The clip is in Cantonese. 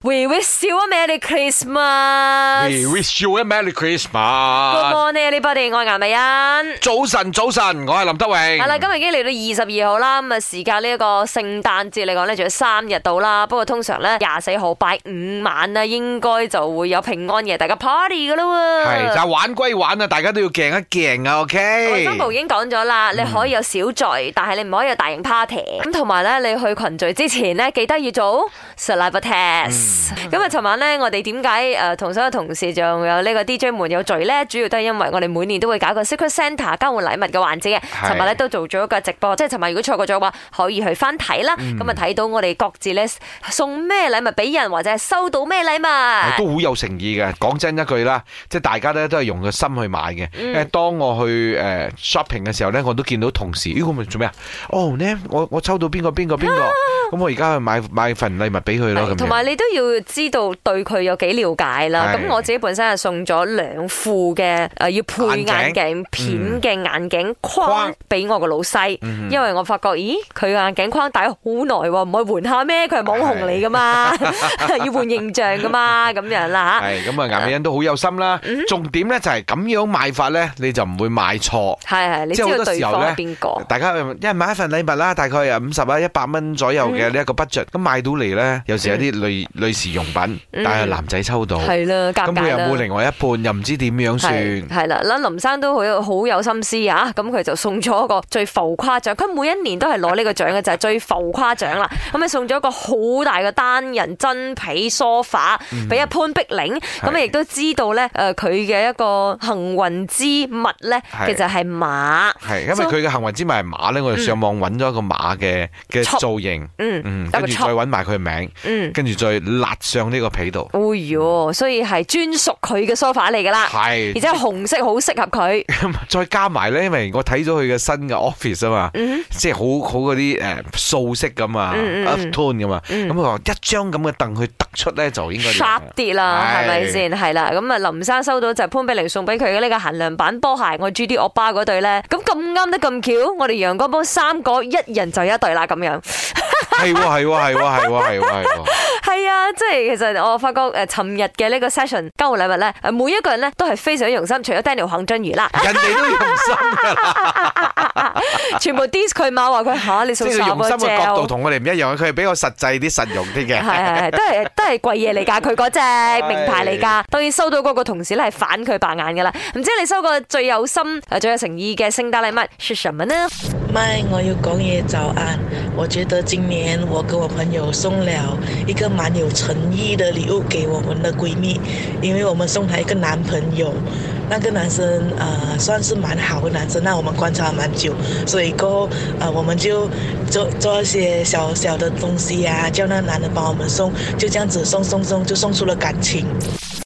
We wish you a Merry Christmas. We wish you a Merry Christmas. Good morning, everybody，我係顏美欣。 早晨，我係林德榮。 係啦，今日已經嚟到22號啦，咁啊時間呢一個聖誕節嚟講咧，仲有3日到啦。不過通常咧24號拜5晚啦，應該就會有平安夜，大家 party 噶啦喎。 係，但係玩歸玩啊，大家都要鏡一鏡啊 ，OK。 衛生部已經講咗啦，你可以有小聚，但係你唔可以有大型 party。咁同埋咧，你去群聚之前咧，記得要做 saliva test。咁啊，尋晚咧，我哋點解同所有同事仲有呢個 DJ 們有聚咧？主要都係因為我哋每年都會搞個 Secret Santa 交換禮物嘅環節嘅。尋日咧都做咗一個直播，即係尋日如果錯過咗嘅話，可以去翻睇啦。咁啊睇到我哋各自咧送咩禮物俾人，或者係收到咩禮物， 都好有誠意嘅。講真一句啦，即係大家咧都係用個心去買嘅。當我去shopping 嘅時候咧，我都見到同事，我咪做咩啊？哦呢，我抽到邊個，咁我而家去買份禮物俾佢咯。 同埋你都要知道對佢有幾了解啦。咁我自己本身係送咗2副嘅要配眼鏡片嘅眼鏡框俾我個老細，因為我發覺佢眼鏡框戴咗好耐喎，唔可以換下咩？佢係網紅嚟噶嘛，要換形象噶嘛，咁樣啦嚇。係咁啊，顏美欣都好有心啦。重點咧就係咁樣買法咧，你就唔會買錯。係，你知道對方係邊個？大家一人買一份禮物啦，大概50啊100蚊左右嘅呢一個 budget，咁買到嚟咧，有時有啲女士用品，但係男仔抽到，係啦，咁佢又冇另外一半，又唔知點樣算。係啦，林生都好有心思啊！咁佢就送咗一個最浮誇獎，佢每一年都係攞呢個獎嘅，就係最浮誇獎啦。咁啊送咗一個好大嘅單人真皮梳化俾阿潘碧玲，咁啊亦都知道咧佢嘅一個幸運之物咧，其實係馬。係因為佢嘅幸運之物係馬咧，我就上網揾咗一個馬嘅造型，跟住再揾埋佢嘅名，跟住再辣上呢個皮度。哎喲，所以係專屬佢嘅梳化嚟噶啦，係，而且紅色好適合佢。再加埋咧，因為我睇咗佢嘅新嘅 office 啊嘛，即係好嗰啲素色咁啊 ，earth tone 咁啊，咁佢話一張咁嘅凳去突出咧，就應該 sharp 啲啦，係咪先？係啦，咁啊林生收到就係潘碧玲送俾佢嘅呢個限量版波鞋，我 GD 歐巴嗰對咧，咁啱得咁巧，我哋陽光幫3個一人就一對啦，咁樣。係啊，即係其實我發覺尋日嘅呢個 session 交換禮物咧，每一個人咧都係非常用心，除咗 Daniel 黃俊瑜啦，人哋都用心噶啦，全部 diss 佢嘛，話佢吓你送啥用心嘅角度同我哋唔一樣，佢係比較實際啲、實用啲嘅，係都係貴嘢嚟噶，佢嗰隻名牌嚟噶。當然收到嗰個同事咧係反佢白眼噶啦，唔知你收過最有心、最有誠意嘅聖誕禮物係什麼呢？ 咪我要講嘢早安，我覺得今年我跟我朋友送了一個蠻有誠意的禮物給我們的閨蜜，因為我們送她一個男朋友，那個男生算是蠻好的男生，那我們觀察蠻久，所以過後我們就做一些小小的東西啊，叫那個男的幫我們送，就這樣子送就送出了感情。